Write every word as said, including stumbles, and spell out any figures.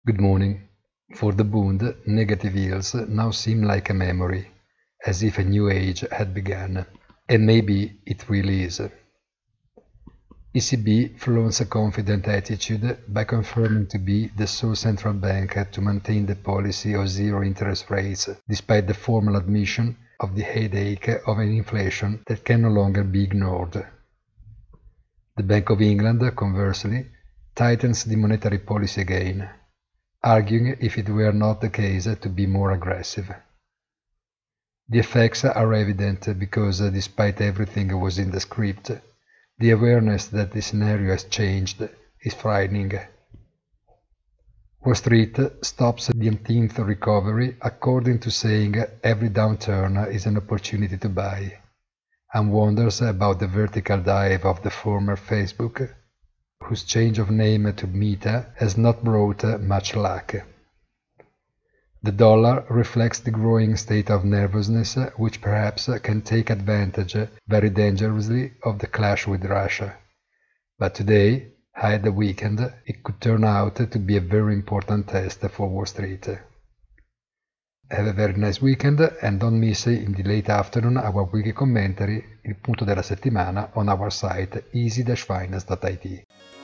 Good morning. For the Bund, negative yields now seem like a memory, as if a new age had begun. And maybe it really is. E C B flaunts a confident attitude by confirming to be the sole central bank to maintain the policy of zero interest rates, despite the formal admission of the headache of an inflation that can no longer be ignored. The Bank of England, conversely, tightens the monetary policy again, arguing if it were not the case to be more aggressive. The effects are evident because, despite everything was in the script, the awareness that the scenario has changed is frightening. Wall Street stops the umpteenth recovery according to saying every downturn is an opportunity to buy, and wonders about the vertical dive of the former Facebook, whose change of name to Meta has not brought much luck. The dollar reflects the growing state of nervousness which perhaps can take advantage very dangerously of the clash with Russia. But today, at the weekend, it could turn out to be a very important test for Wall Street. Have a very nice weekend and don't miss in the late afternoon our weekly commentary, il punto della settimana, on our site easy dash finance dot it.